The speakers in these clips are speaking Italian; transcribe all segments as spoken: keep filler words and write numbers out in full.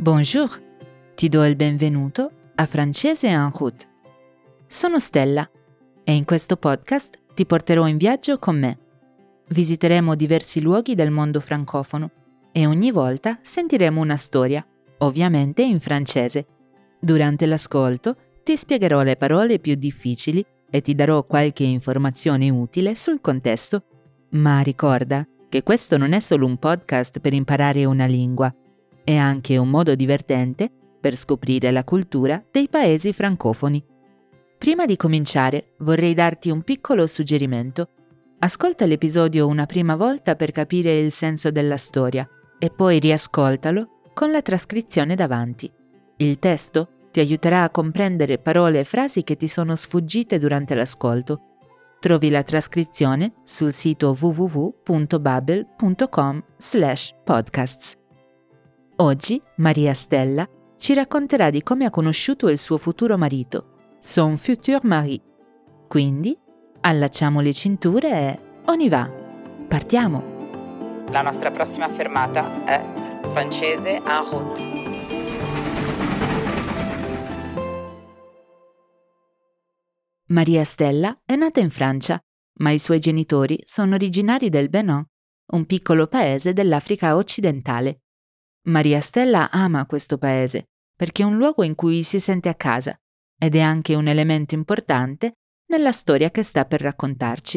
Bonjour, ti do il benvenuto a Francese en route. Sono Stella e in questo podcast ti porterò in viaggio con me. Visiteremo diversi luoghi del mondo francofono e ogni volta sentiremo una storia, ovviamente in francese. Durante l'ascolto ti spiegherò le parole più difficili e ti darò qualche informazione utile sul contesto. Ma ricorda che questo non è solo un podcast per imparare una lingua, è anche un modo divertente per scoprire la cultura dei paesi francofoni. Prima di cominciare, vorrei darti un piccolo suggerimento. Ascolta l'episodio una prima volta per capire il senso della storia e poi riascoltalo con la trascrizione davanti. Il testo ti aiuterà a comprendere parole e frasi che ti sono sfuggite durante l'ascolto. Trovi la trascrizione sul sito w w w punto babbel punto com slash podcasts. Oggi Maria Stella ci racconterà di come ha conosciuto il suo futuro marito, son futur mari. Quindi, allacciamo le cinture e on y va! Partiamo! La nostra prossima fermata è Francese en route. Maria Stella è nata in Francia, ma i suoi genitori sono originari del Benin, un piccolo paese dell'Africa occidentale. Maria Stella ama questo paese perché è un luogo in cui si sente a casa ed è anche un elemento importante nella storia che sta per raccontarci.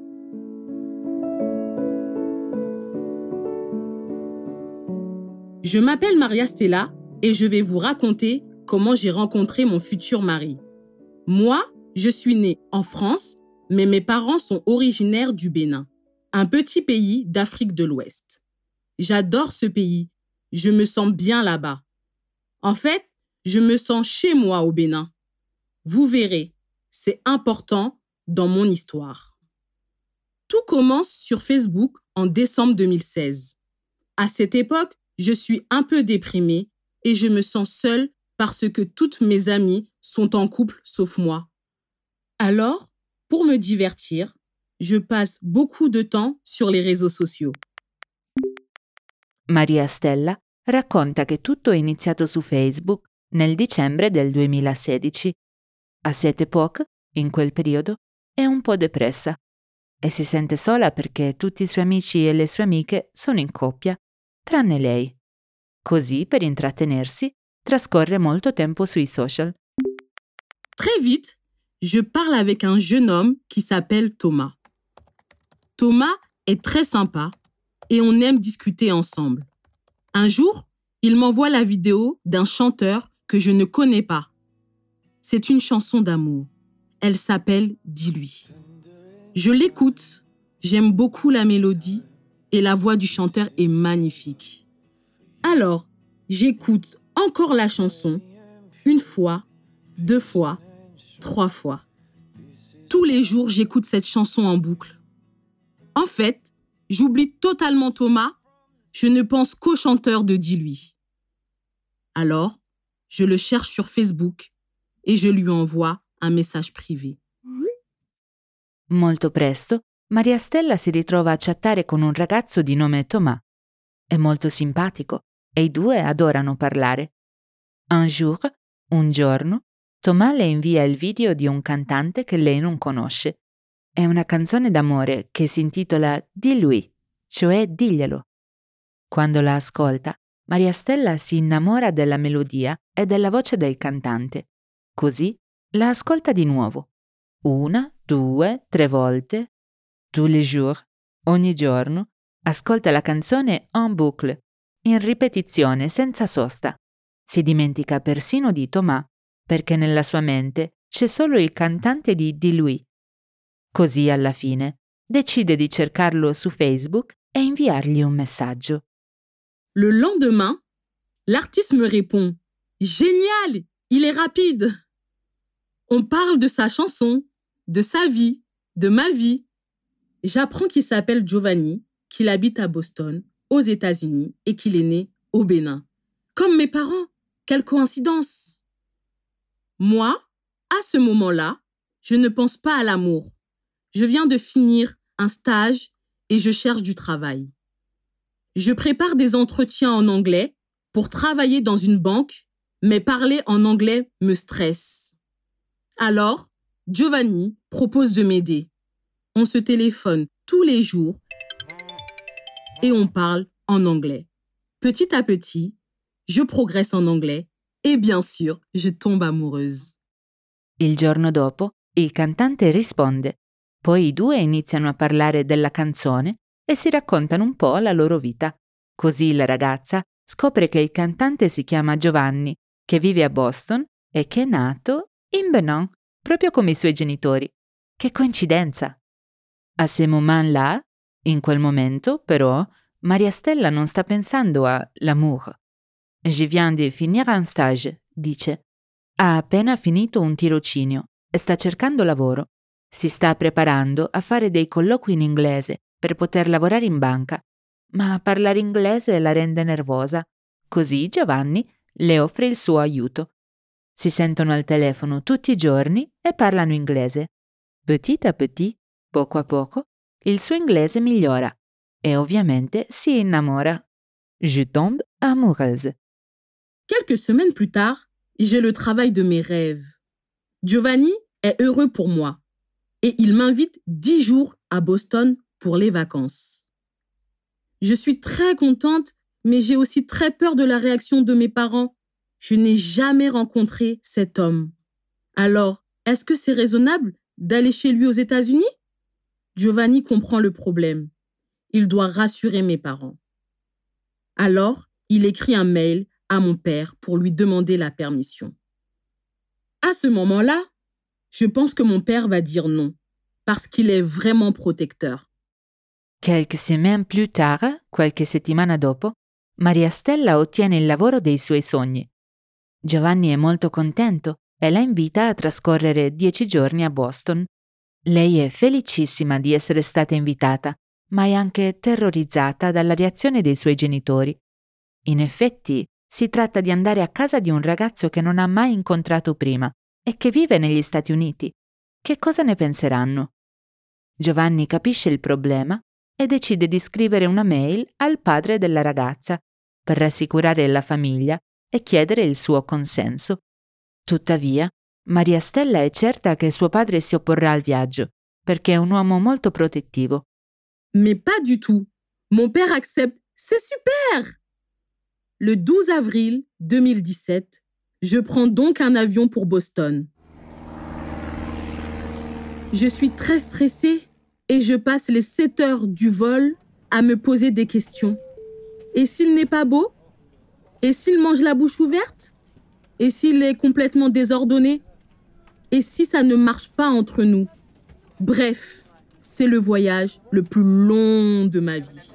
Je m'appelle Maria Stella et je vais vous raconter comment j'ai rencontré mon futur mari. Moi, je suis née en France, mais mes parents sont originaires du Bénin, un petit pays d'Afrique de l'Ouest. J'adore ce pays. Je me sens bien là-bas. En fait, je me sens chez moi au Bénin. Vous verrez, c'est important dans mon histoire. Tout commence sur Facebook en décembre deux mille seize. À cette époque, je suis un peu déprimée et je me sens seule parce que toutes mes amies sont en couple sauf moi. Alors, pour me divertir, je passe beaucoup de temps sur les réseaux sociaux. Maria Stella racconta che tutto è iniziato su Facebook nel dicembre del duemilasedici. A cette époque, in quel periodo, è un po' depressa e si sente sola perché tutti i suoi amici e le sue amiche sono in coppia, tranne lei. Così, per intrattenersi, trascorre molto tempo sui social. Très vite, je parle avec un jeune homme qui s'appelle Thomas. Thomas est très sympa et on aime discuter ensemble. Un jour, il m'envoie la vidéo d'un chanteur que je ne connais pas. C'est une chanson d'amour. Elle s'appelle « Dis-lui ». Je l'écoute, j'aime beaucoup la mélodie et la voix du chanteur est magnifique. Alors, j'écoute encore la chanson, une fois, deux fois, trois fois. Tous les jours, j'écoute cette chanson en boucle. En fait, j'oublie totalement Thomas. Je ne pense qu'au chanteur de Dis-lui. Alors, je le cherche sur Facebook et je lui envoie un message privé. Molto presto, Maria Stella si ritrova a chattare con un ragazzo di nome Thomas. È molto simpatico e i due adorano parlare. Un jour, un giorno, Thomas le invia il video di un cantante che lei non conosce. È una canzone d'amore che si intitola Dis-lui, cioè diglielo. Quando la ascolta, Maria Stella si innamora della melodia e della voce del cantante. Così la ascolta di nuovo. Una, due, tre volte. Tous les jours, ogni giorno, ascolta la canzone en boucle, in ripetizione senza sosta. Si dimentica persino di Thomas, perché nella sua mente c'è solo il cantante di Dis-lui. Così alla fine decide di cercarlo su Facebook e inviargli un messaggio. Le lendemain, l'artiste me répond « Génial, il est rapide !» On parle de sa chanson, de sa vie, de ma vie. J'apprends qu'il s'appelle Giovanni, qu'il habite à Boston, aux États-Unis, et qu'il est né au Bénin. Comme mes parents, quelle coïncidence! Moi, à ce moment-là, je ne pense pas à l'amour. Je viens de finir un stage et je cherche du travail. Je prépare des entretiens en anglais pour travailler dans une banque, mais parler en anglais me stresse. Alors, Giovanni propose de m'aider. On se téléphone tous les jours et on parle en anglais. Petit à petit, je progresse en anglais e bien sûr, je tombe amoureuse. Il giorno dopo, il cantante risponde. Poi i due iniziano a parlare della canzone e si raccontano un po' la loro vita. Così la ragazza scopre che il cantante si chiama Giovanni, che vive a Boston e che è nato in Benin, proprio come i suoi genitori. Che coincidenza! A ce moment-là, in quel momento, però, Maria Stella non sta pensando a l'amour. Je viens de finir un stage, dice. Ha appena finito un tirocinio e sta cercando lavoro. Si sta preparando a fare dei colloqui in inglese per poter lavorare in banca, ma parlare inglese la rende nervosa. Così Giovanni le offre il suo aiuto. Si sentono al telefono tutti i giorni e parlano inglese. Petit à petit, poco a poco, il suo inglese migliora e ovviamente si innamora. Je tombe amoureuse. Quelques semaines plus tard, j'ai le travail de mes rêves. Giovanni est heureux pour moi et il m'invite dix jours à Boston pour les vacances. Je suis très contente, mais j'ai aussi très peur de la réaction de mes parents. Je n'ai jamais rencontré cet homme. Alors, est-ce que c'est raisonnable d'aller chez lui aux États-Unis? Giovanni comprend le problème. Il doit rassurer mes parents. Alors, il écrit un mail à mon père pour lui demander la permission. À ce moment-là, je pense que mon père va dire non, parce qu'il est vraiment protecteur. Quelques semaines plus tard, qualche settimana dopo, Maria Stella ottiene il lavoro dei suoi sogni. Giovanni è molto contento e la invita a trascorrere dieci giorni a Boston. Lei è felicissima di essere stata invitata, ma è anche terrorizzata dalla reazione dei suoi genitori. In effetti, si tratta di andare a casa di un ragazzo che non ha mai incontrato prima e che vive negli Stati Uniti. Che cosa ne penseranno? Giovanni capisce il problema e decide di scrivere una mail al padre della ragazza per rassicurare la famiglia e chiedere il suo consenso. Tuttavia, Maria Stella è certa che suo padre si opporrà al viaggio, perché è un uomo molto protettivo. Mais pas du tout. Mon père accepte. C'est super! Le douze avril deux mille dix-sept, je prends donc un avion pour Boston. Je suis très stressée et je passe les sept heures du vol à me poser des questions. Et s'il n'est pas beau? Et s'il mange la bouche ouverte? Et s'il est complètement désordonné? Et si ça ne marche pas entre nous? Bref, c'est le voyage le plus long de ma vie.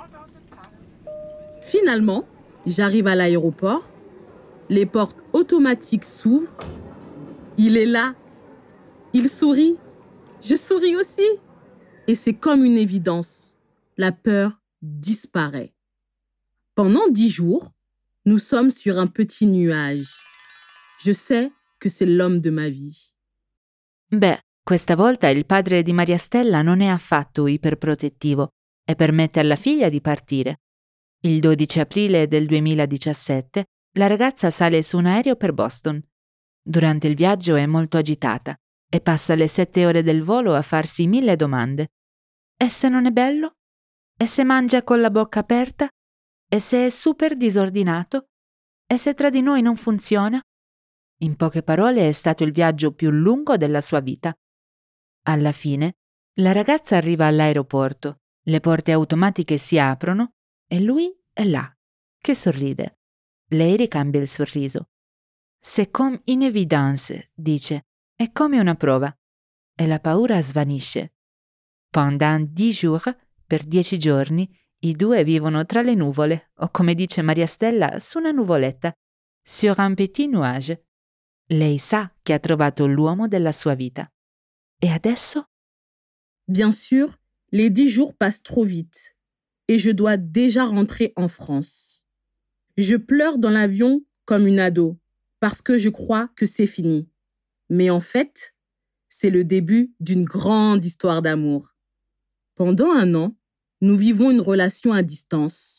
Finalement, j'arrive à l'aéroport, les portes automatiques s'ouvrent. Il est là. Il sourit. Je souris aussi. Et c'est comme une évidence. La peur disparaît. Pendant dix jours, nous sommes sur un petit nuage. Je sais que c'est l'homme de ma vie. Beh, questa volta il padre di Maria Stella non è affatto iperprotettivo e permette alla figlia di partire. Il dodici aprile del duemiladiciassette la ragazza sale su un aereo per Boston. Durante il viaggio è molto agitata e passa le sette ore del volo a farsi mille domande. E se non è bello? E se mangia con la bocca aperta? E se è super disordinato? E se tra di noi non funziona? In poche parole, è stato il viaggio più lungo della sua vita. Alla fine, la ragazza arriva all'aeroporto, le porte automatiche si aprono e lui è là, che sorride. Lei ricambia il sorriso. C'est comme une évidence, dice, è come una prova. E la paura svanisce. Pendant dix jours, per dieci giorni, i due vivono tra le nuvole, o come dice Maria Stella, su una nuvoletta, sur un petit nuage. Lei sa che ha trovato l'uomo della sua vita. E adesso? Bien sûr, les dix jours passent trop vite et je dois déjà rentrer en France. Je pleure dans l'avion comme une ado parce que je crois que c'est fini. Mais en fait, c'est le début d'une grande histoire d'amour. Pendant un an, nous vivons une relation à distance,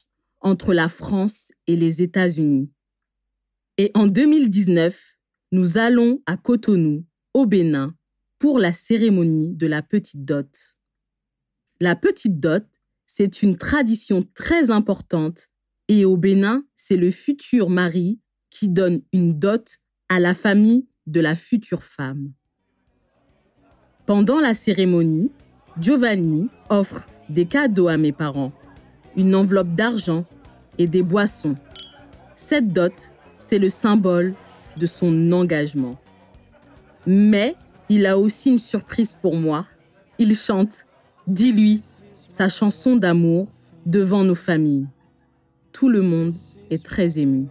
entre la France et les États-Unis. Et en deux mille dix-neuf, nous allons à Cotonou, au Bénin, pour la cérémonie de la petite dot. La petite dot, c'est une tradition très importante et au Bénin, c'est le futur mari qui donne une dot à la famille de la future femme. Pendant la cérémonie, Giovanni offre des cadeaux à mes parents, une enveloppe d'argent et des boissons. Cette dot, c'est le symbole de son engagement. Mais il a aussi une surprise pour moi. Il chante « Dis-lui » sa chanson d'amour devant nos familles. Tout le monde est très ému.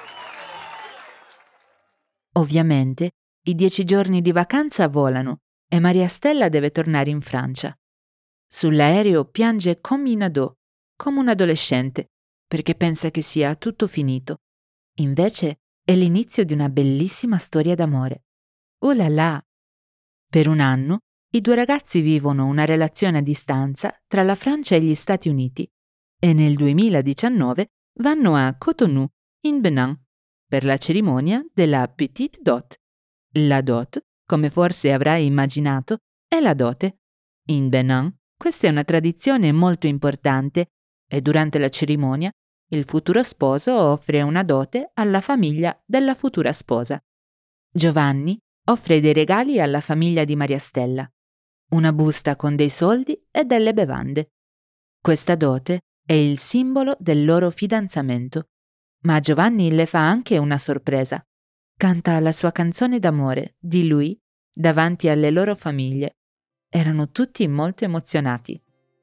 Ovviamente, i dieci giorni di vacanza volano e Maria Stella deve tornare in Francia. Sull'aereo piange come in ado, come un adolescente, perché pensa che sia tutto finito. Invece è l'inizio di una bellissima storia d'amore. Oh là là! Per un anno i due ragazzi vivono una relazione a distanza tra la Francia e gli Stati Uniti e nel duemiladiciannove vanno a Cotonou, in Benin, per la cerimonia della Petite Dot. La dot, come forse avrai immaginato, è la dote. In Benin questa è una tradizione molto importante e durante la cerimonia il futuro sposo offre una dote alla famiglia della futura sposa. Giovanni offre dei regali alla famiglia di Maria Stella, una busta con dei soldi e delle bevande. Questa dote è il simbolo del loro fidanzamento, ma Giovanni le fa anche una sorpresa. Canta la sua canzone d'amore di lui davanti alle loro famiglie. Erano tutti molto emozionati.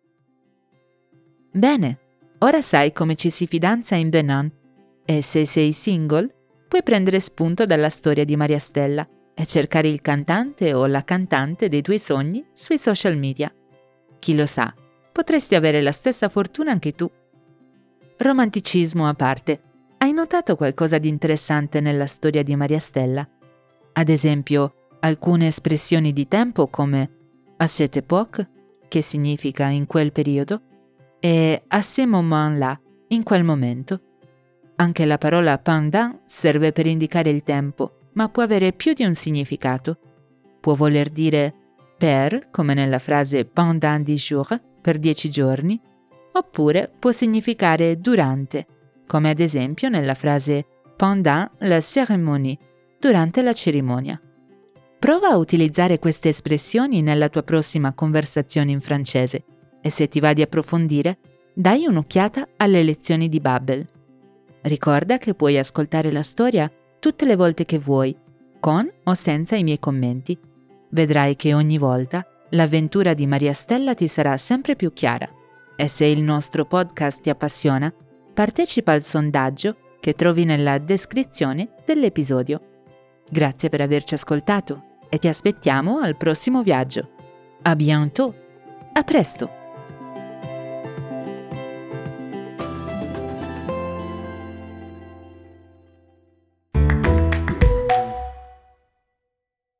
Bene, ora sai come ci si fidanza in Benin e se sei single puoi prendere spunto dalla storia di Maria Stella e cercare il cantante o la cantante dei tuoi sogni sui social media. Chi lo sa, potresti avere la stessa fortuna anche tu. Romanticismo a parte, hai notato qualcosa di interessante nella storia di Maria Stella? Ad esempio, alcune espressioni di tempo come à cette époque, che significa in quel periodo, e à ce moment-là, in quel momento. Anche la parola pendant serve per indicare il tempo, ma può avere più di un significato. Può voler dire per, come nella frase pendant dix jours, per dieci giorni, oppure può significare durante, come ad esempio nella frase pendant la cérémonie, durante la cerimonia. Prova a utilizzare queste espressioni nella tua prossima conversazione in francese e se ti va di approfondire, dai un'occhiata alle lezioni di Babbel. Ricorda che puoi ascoltare la storia tutte le volte che vuoi, con o senza i miei commenti. Vedrai che ogni volta l'avventura di Maria Stella ti sarà sempre più chiara. E se il nostro podcast ti appassiona, partecipa al sondaggio che trovi nella descrizione dell'episodio. Grazie per averci ascoltato e ti aspettiamo al prossimo viaggio. A bientôt! A presto!